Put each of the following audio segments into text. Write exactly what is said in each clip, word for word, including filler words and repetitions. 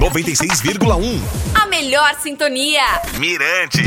noventa e seis vírgula um. A melhor sintonia. Mirante.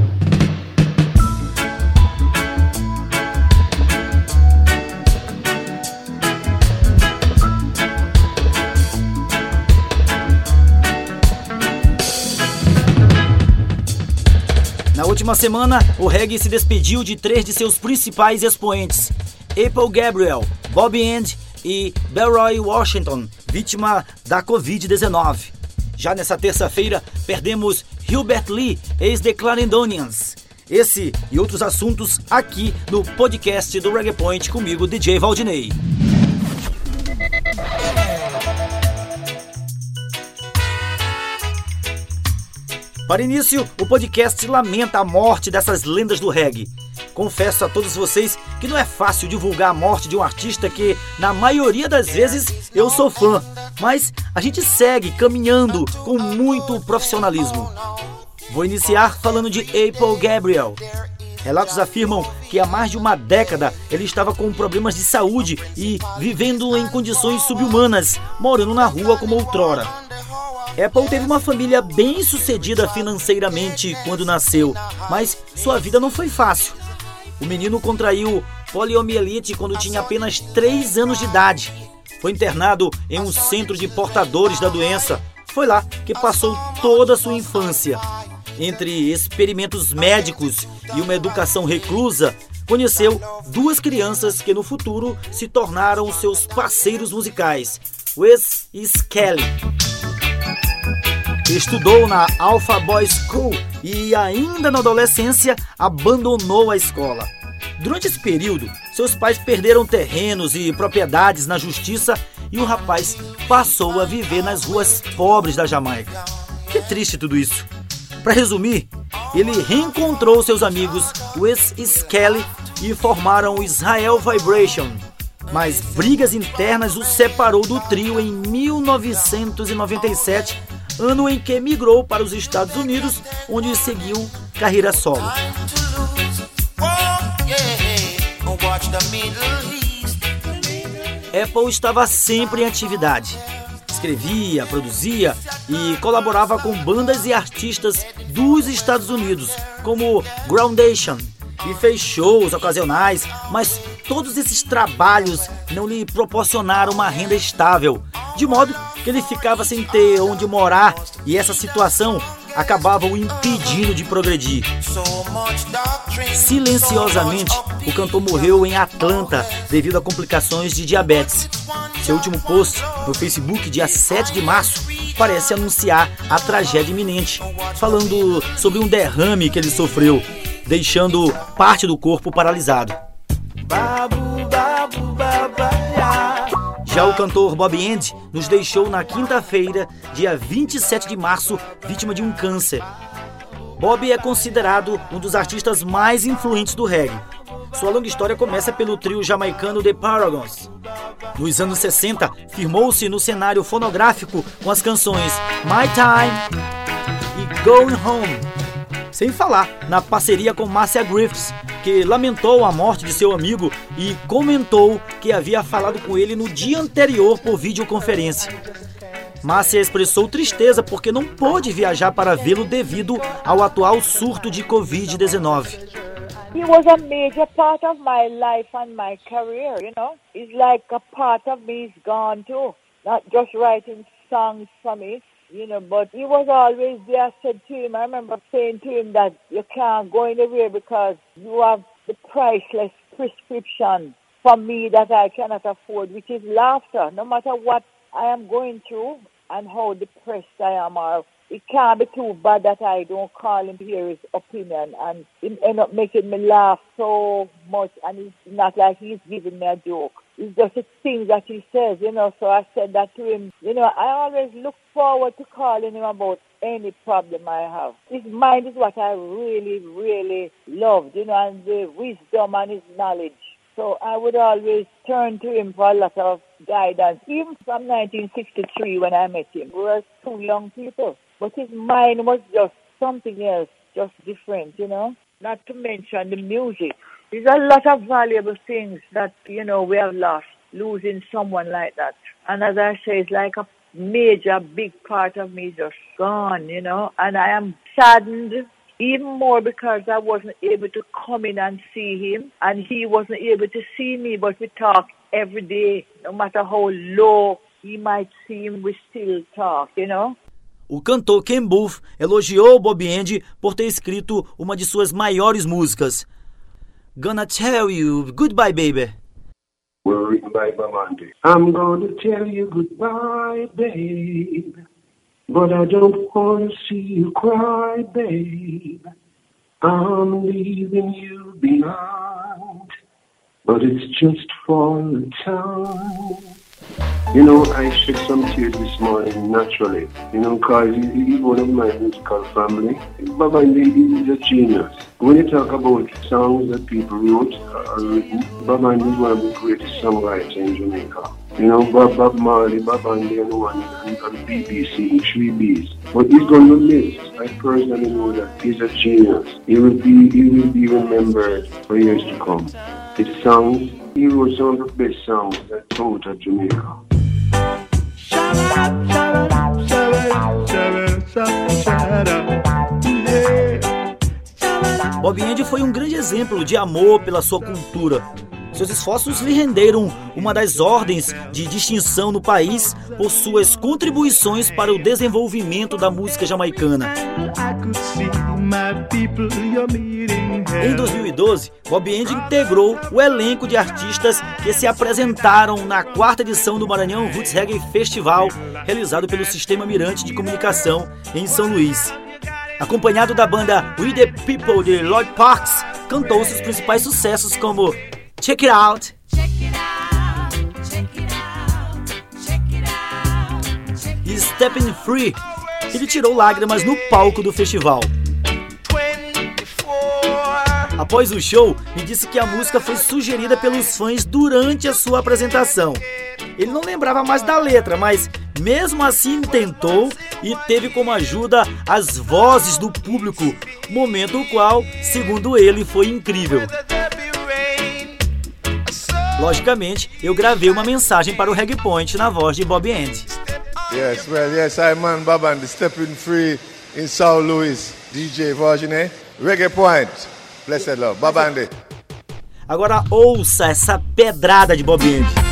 Na última semana, o reggae se despediu de três de seus principais expoentes, Apple Gabriel, Bobby End e Belroy Washington, vítima da covid dezenove. Já nessa terça-feira, perdemos Hubert Lee, ex-The Clarendonians. Esse e outros assuntos aqui no podcast do Reggae Point comigo, D J Valdinei. Para início, o podcast lamenta a morte dessas lendas do reggae. Confesso a todos vocês que não é fácil divulgar a morte de um artista que, na maioria das vezes, eu sou fã, mas a gente segue caminhando com muito profissionalismo. Vou iniciar falando de Apple Gabriel. Relatos afirmam que há mais de uma década ele estava com problemas de saúde e vivendo em condições subhumanas, morando na rua como outrora. Apple teve uma família bem sucedida financeiramente quando nasceu, mas sua vida não foi fácil. O menino contraiu poliomielite quando tinha apenas três anos de idade. Foi internado em um centro de portadores da doença. Foi lá que passou toda a sua infância. Entre experimentos médicos e uma educação reclusa, conheceu duas crianças que no futuro se tornaram seus parceiros musicais, Wes e Skelly. Estudou na Alpha Boys School e ainda na adolescência abandonou a escola. Durante esse período, seus pais perderam terrenos e propriedades na justiça e o rapaz passou a viver nas ruas pobres da Jamaica. Que triste tudo isso. Para resumir, ele reencontrou seus amigos Wes e Skelly e formaram o Israel Vibration. Mas brigas internas o separou do trio em mil novecentos e noventa e sete, ano em que migrou para os Estados Unidos, onde seguiu carreira solo. Apple estava sempre em atividade. Escrevia, produzia e colaborava com bandas e artistas dos Estados Unidos, como Groundation, e fez shows ocasionais, mas todos esses trabalhos não lhe proporcionaram uma renda estável, de modo que ele ficava sem ter onde morar e essa situação acabava o impedindo de progredir. Silenciosamente, o cantor morreu em Atlanta devido a complicações de diabetes. Seu último post no Facebook, dia sete de março, parece anunciar a tragédia iminente, falando sobre um derrame que ele sofreu, deixando parte do corpo paralisado. Já o cantor Bobby End nos deixou na quinta-feira, dia vinte e sete de março, vítima de um câncer. Bobby é considerado um dos artistas mais influentes do reggae. Sua longa história começa pelo trio jamaicano The Paragons. Nos anos sessenta, firmou-se no cenário fonográfico com as canções My Time e Going Home. Sem falar na parceria com Marcia Griffiths, que lamentou a morte de seu amigo e comentou que havia falado com ele no dia anterior por videoconferência. Marcia expressou tristeza porque não pôde viajar para vê-lo devido ao atual surto de covid dezenove. He was a major part of my life and my career, you know. It's like a part of me is gone too. Not just writing songs for me, you know, but he was always there. I said to him, I remember saying to him that you can't go anywhere because you have the priceless prescription for me that I cannot afford, which is laughter. No matter what I am going through and how depressed I am, or it can't be too bad that I don't call him to hear his opinion, and it end up making me laugh so much, and it's not like he's giving me a joke. It's just the things that he says, you know, so I said that to him. You know, I always look forward to calling him about any problem I have. His mind is what I really, really loved, you know, and the wisdom and his knowledge. So I would always turn to him for a lot of guidance, even from nineteen sixty-three when I met him. We were two young people, but his mind was just something else, just different, you know. Not to mention the music. There's a lot of valuable things that, you know, we have lost, losing someone like that. And as I say, it's like a major, big part of me just gone, you know, and I am saddened even more because I wasn't able to come in and see him, and he wasn't able to see me, but we talk every day, no matter how low he might seem, we still talk, you know. O cantor Ken Boothe elogiou Bobby Andy por ter escrito uma de suas maiores músicas, Gonna Tell You Goodbye, Baby. Were written by Bob Andy. I'm gonna tell you goodbye, babe, but I don't want to see you cry, babe. I'm leaving you behind, but it's just for a time. You know, I shed some tears this morning, naturally. You know, because he's one of my musical family. Bob Andy is a genius. When you talk about songs that people wrote or written, Bob Andy is one of the greatest songwriters in Jamaica. You know, Bob, Bob Marley, Bob Andy, and one and, and B B C, three B's. But he's going to miss. I personally know that he's a genius. He will be, he will be remembered for years to come. His songs, he wrote some of the best songs that out of Jamaica. Bobby Andy foi um grande exemplo de amor pela sua cultura. Seus esforços lhe renderam uma das ordens de distinção no país por suas contribuições para o desenvolvimento da música jamaicana. Em dois mil e doze, Bobby Andy integrou o elenco de artistas que se apresentaram na quarta edição do Maranhão Roots Reggae Festival, realizado pelo Sistema Mirante de Comunicação em São Luís. Acompanhado da banda We The People de Lloyd Parks, cantou seus principais sucessos como Check It Out, e Stepping Free. Ele tirou lágrimas no palco do festival. Após o show, me disse que a música foi sugerida pelos fãs durante a sua apresentação. Ele não lembrava mais da letra, mas mesmo assim tentou e teve como ajuda as vozes do público, momento o qual, segundo ele, foi incrível. Logicamente, eu gravei uma mensagem para o Reggae Point na voz de Bobby Andy. Yes, well, yes, I'm man Bob Andy, stepping free in São Luís, D J Virginie, Reggae Point, blessed love, Bob Andy. Agora ouça essa pedrada de Bobby Andy.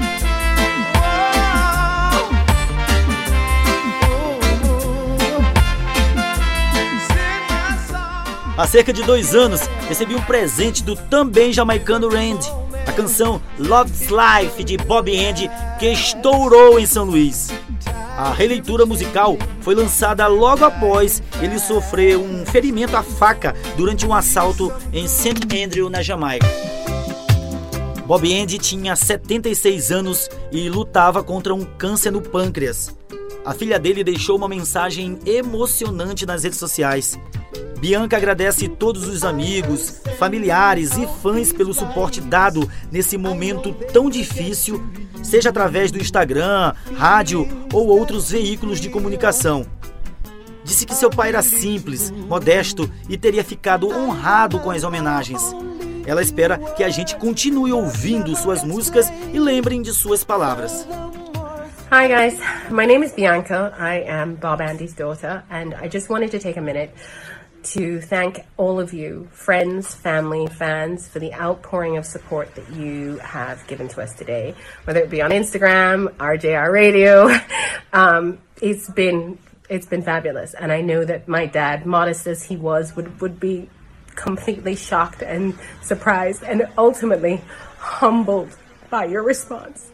Há cerca de dois anos, recebi um presente do também jamaicano Randy, a canção Love's Life de Bobby Andy, que estourou em São Luís. A releitura musical foi lançada logo após ele sofrer um ferimento à faca durante um assalto em Saint Andrew, na Jamaica. Bobby Andy tinha setenta e seis anos e lutava contra um câncer no pâncreas. A filha dele deixou uma mensagem emocionante nas redes sociais. Bianca agradece todos os amigos, familiares e fãs pelo suporte dado nesse momento tão difícil, seja através do Instagram, rádio ou outros veículos de comunicação. Disse que seu pai era simples, modesto e teria ficado honrado com as homenagens. Ela espera que a gente continue ouvindo suas músicas e lembrem de suas palavras. Hi guys, my name is Bianca. I am Bob Andy's daughter, and I just wanted to take a minute to thank all of you, friends, family, fans, for the outpouring of support that you have given to us today, whether it be on Instagram, R J R Radio. Um, it's been it's been fabulous, and I know that my dad, modest as he was, would, would be completely shocked and surprised and ultimately humbled by your response.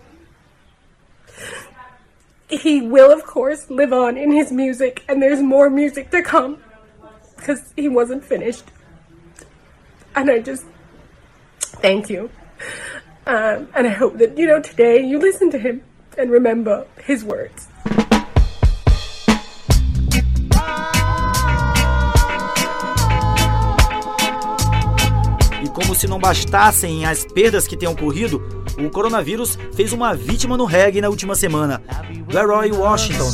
He will, of course, live on in his music, and there's more music to come, because he wasn't finished. And I just thank you. Um, and I hope that, you know, today you listen to him and remember his words. E como se não bastassem as perdas que têm ocorrido, o coronavírus fez uma vítima no reggae na última semana, Leroy Washington.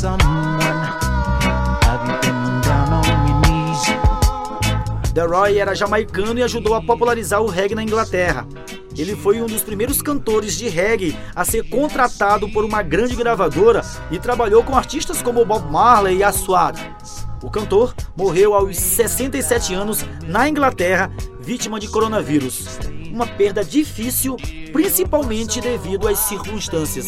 Leroy era jamaicano e ajudou a popularizar o reggae na Inglaterra. ele foi um dos primeiros cantores de reggae a ser contratado por uma grande gravadora e trabalhou com artistas como Bob Marley e Aswad. O cantor morreu aos sessenta e sete anos na Inglaterra, vítima de coronavírus. Uma perda difícil, principalmente devido às circunstâncias.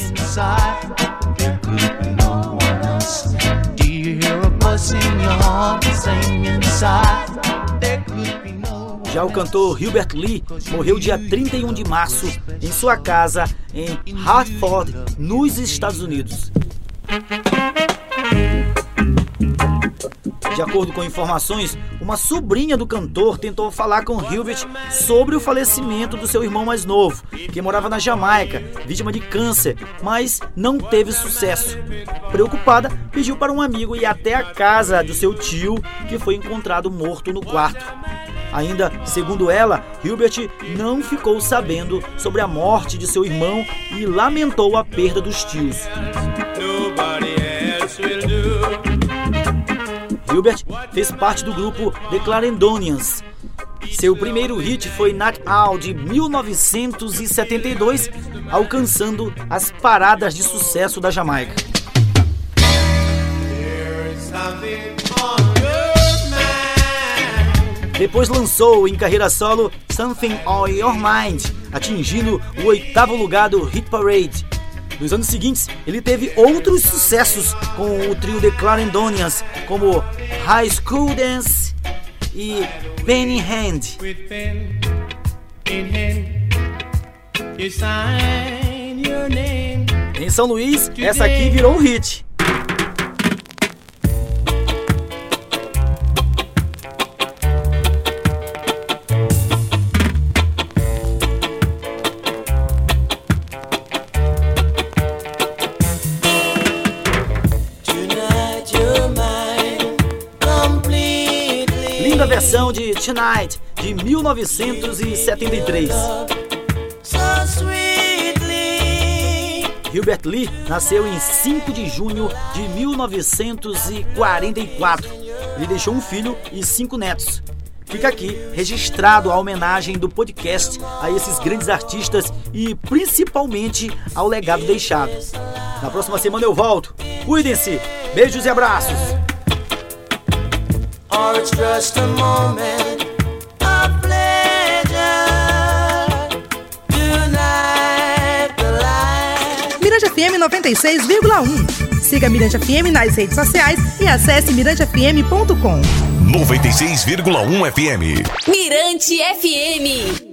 Já o cantor Hubert Lee morreu dia trinta e um de março em sua casa em Hartford, nos Estados Unidos. De acordo com informações, uma sobrinha do cantor tentou falar com Hubert sobre o falecimento do seu irmão mais novo, que morava na Jamaica, vítima de câncer, mas não teve sucesso. Preocupada, pediu para um amigo ir até a casa do seu tio, que foi encontrado morto no quarto. Ainda, segundo ela, Hubert não ficou sabendo sobre a morte de seu irmão e lamentou a perda dos tios. Hubert fez parte do grupo The Clarendonians. Seu primeiro hit foi Night Out, de mil novecentos e setenta e dois, alcançando as paradas de sucesso da Jamaica. Depois lançou em carreira solo Something on Your Mind, atingindo o oitavo lugar do Hit Parade. Nos anos seguintes, ele teve outros sucessos com o trio The Clarendonians, como High School Dance e Pen in Hand. Em São Luís, essa aqui virou um hit. Linda versão de Tonight, de mil novecentos e setenta e três. Hubert Lee nasceu em cinco de junho de mil novecentos e quarenta e quatro. Ele deixou um filho e cinco netos. Fica aqui registrado a homenagem do podcast a esses grandes artistas e principalmente ao legado deixado. Na próxima semana eu volto. Cuidem-se. Beijos e abraços. Or it's just a moment of pleasure. Tonight the light. Mirante F M noventa e seis vírgula um. Siga Mirante F M nas redes sociais e acesse mirante f m ponto com. noventa e seis vírgula um F M. Mirante F M.